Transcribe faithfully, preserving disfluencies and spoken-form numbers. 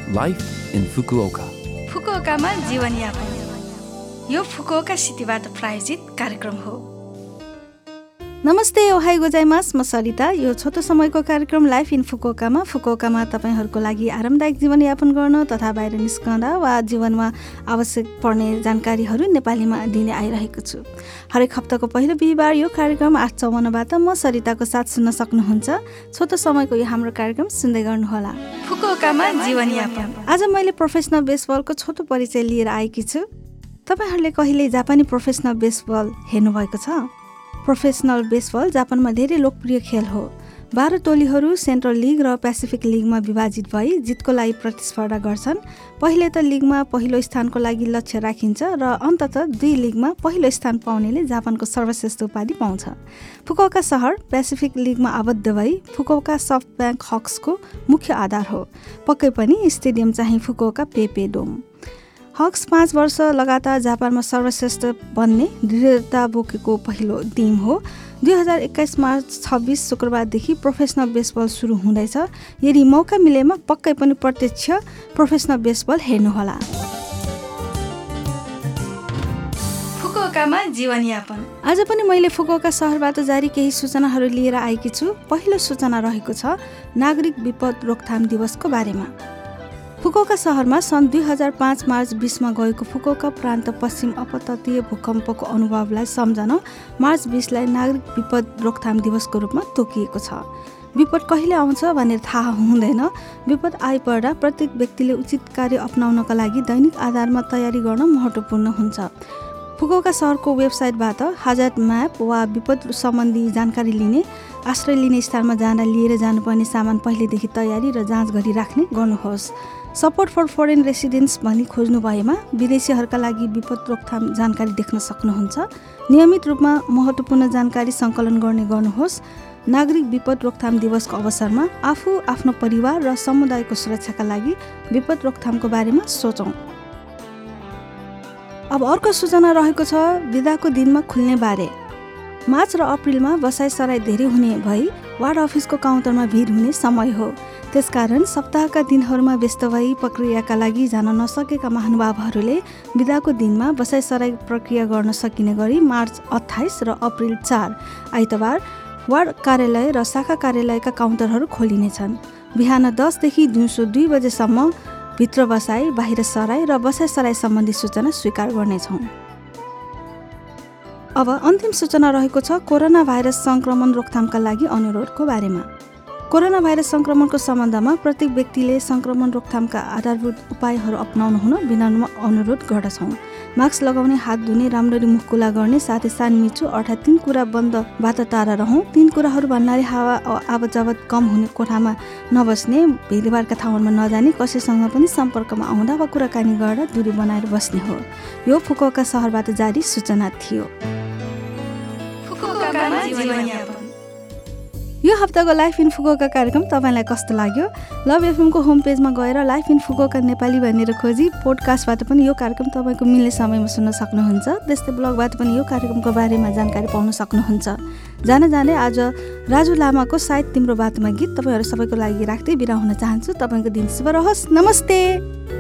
Life in Fukuoka. फुकुओकामा जीवनयापन यो Fukuoka सिटीबाट प्रायोजित कार्यक्रम हो। नमस्ते, ओहाई गोजाइमास, म सरिता। यो छोटो समयको कार्यक्रम लाइफ इन फुकुओकामा फुकुओकामा तपाईँहरूको लागि आरामदायक जीवनयापन गर्न तथा बाहिर निस्कँदा वा जीवनमा आवश्यक पर्ने जानकारीहरू नेपालीमा दिने आइरहेको छु। हरेक हप्ताको पहिलो बिहिबार यो कार्यक्रम आठ चौवन्नबाट म सरिताको साथ सुन्न सक्नुहुन्छ। छोटो समयको यो हाम्रो कार्यक्रम सुन्दै गर्नुहोला। फुकुओकामा जीवनयापन। आज मैले प्रोफेसनल बेसबलको छोटो परिचय लिएर आएकी छु। तपाईँहरूले कहिले जापानी प्रोफेसनल बेसबल हेर्नुभएको छ? प्रोफेसनल बेसबल जापानमा धेरै लोकप्रिय खेल हो। बाह्र टोलीहरू सेन्ट्रल लिग र पेसिफिक लिगमा विभाजित भई जितको लागि प्रतिस्पर्धा गर्छन्। पहिले त लिगमा पहिलो स्थानको लागि लक्ष्य राखिन्छ र अन्ततः दुई लिगमा पहिलो स्थान पाउनेले जापानको सर्वश्रेष्ठ उपाधि पाउँछ। फुकुओका सहर पेसिफिक लिगमा आबद्ध भई फुकुओका सफ्ट ब्याङ्क हक्सको मुख्य आधार हो। पक्कै पनि स्टेडियम चाहिँ फुकुओका पेपे डोम। हक्स पाँच वर्ष लगातार जापानमा सर्वश्रेष्ठ बन्ने दृढता बोकेको पहिलो टिम हो। दुई हजार एक्काइस मार्च छब्बिस शुक्रबारदेखि प्रोफेसनल बेसबल सुरु हुँदैछ। यदि मौका मिलेमा पक्कै पनि प्रत्यक्ष प्रोफेसनल बेसबल हेर्नुहोला। फुकुओकामा जीवनयापन। आज पनि मैले फुकुओका सहरबाट जारी केही सूचनाहरू लिएर आएकी छु। पहिलो सूचना रहेको छ नागरिक विपद रोकथाम दिवसको बारेमा। फुकुओका सहरमा सन् दुई हजार पाँच मार्च बिसमा गएको फुकुओका प्रान्त पश्चिम अपतटीय भूकम्पको अनुभवलाई सम्झन मार्च बिसलाई नागरिक विपद रोकथाम दिवसको रूपमा तोकिएको छ। विपद कहिले आउँछ भनेर थाहा हुँदैन। विपद आइपर्दा प्रत्येक व्यक्तिले उचित कार्य अपनाउनका लागि दैनिक आधारमा तयारी गर्न महत्त्वपूर्ण हुन्छ। फुकुओका सहरको वेबसाइटबाट हाजत म्याप वा विपद सम्बन्धी जानकारी लिने, आश्रय लिने स्थानमा जाँदा लिएर जानुपर्ने सामान पहिलेदेखि तयारी र जाँच गरी राख्ने गर्नुहोस्। सपोर्ट फर फरेन रेसिडेन्ट्स भनी खोज्नु भएमा विदेशीहरूका लागि विपद रोकथाम जानकारी देख्न सक्नुहुन्छ। नियमित रूपमा महत्त्वपूर्ण जानकारी सङ्कलन गर्ने गर्नुहोस्। नागरिक विपद रोकथाम दिवसको अवसरमा आफू, आफ्नो परिवार र समुदायको सुरक्षाका लागि विपद रोकथामको बारेमा सोचौँ। अब अर्को सूचना रहेको छ बिदाको दिनमा खुल्ने बारे। मार्च र अप्रिलमा बसाइसराई धेरै हुने भई वार्ड अफिसको काउन्टरमा भिड हुने समय हो। त्यसकारण सप्ताहका दिनहरूमा व्यस्त भई प्रक्रियाका लागि जान नसकेका महानुभावहरूले बिदाको दिनमा बसाइसराई प्रक्रिया गर्न सकिने गरी मार्च अट्ठाइस र अप्रिल चार आइतबार वार्ड कार्यालय र शाखा कार्यालयका काउन्टरहरू खोलिनेछन्। बिहान दसदेखि दिउँसो दुई बजेसम्म भित्र बसाई, बाहिर सराई र बसाइसराई सम्बन्धी सूचना स्वीकार गर्नेछौँ। अब अन्तिम सूचना रहेको छ कोरोना भाइरस सङ्क्रमण रोकथामका लागि अनुरोधको बारेमा। कोरोना भाइरस सङ्क्रमणको सम्बन्धमा प्रत्येक व्यक्तिले सङ्क्रमण रोकथामका आधारभूत उपायहरू अपनाउनु हुन विनम्र अनुरोध गर्दछौँ। मास्क लगाउने, हात धुने, राम्ररी मुख खुला गर्ने, साथै सानमिचो अर्थात् तीन कुरा बन्दबाट टाढा रहौँ। तीन कुराहरू भन्नाले हावा आवत जावत कम हुने कोठामा नबस्ने, भिडभाडका ठाउँहरूमा नजाने, कसैसँग पनि सम्पर्कमा आउँदा वा कुराकानी गर्दा दूरी बनाएर बस्ने हो। यो फुकुओका सहरबाट जारी सूचना थियो। यो हप्ताको लाइफ इन फुकुओका कार्यक्रम तपाईँलाई कस्तो लाग्यो? लभ एफएमको होम पेजमा गएर लाइफ इन फुकुओका नेपाली भनेर खोजी पोडकास्टबाट पनि यो कार्यक्रम तपाईँको मिल्ने समयमा सुन्न सक्नुहुन्छ। त्यस्तै ब्लगबाट पनि यो कार्यक्रमको बारेमा जानकारी पाउन सक्नुहुन्छ। जान जाँदै आज राजु लामाको सायद तिम्रो बातमा गीत तपाईँहरू सबैको लागि राख्दै बिदा हुन चाहन्छु। तपाईँको दिन शुभ रहोस्। नमस्ते।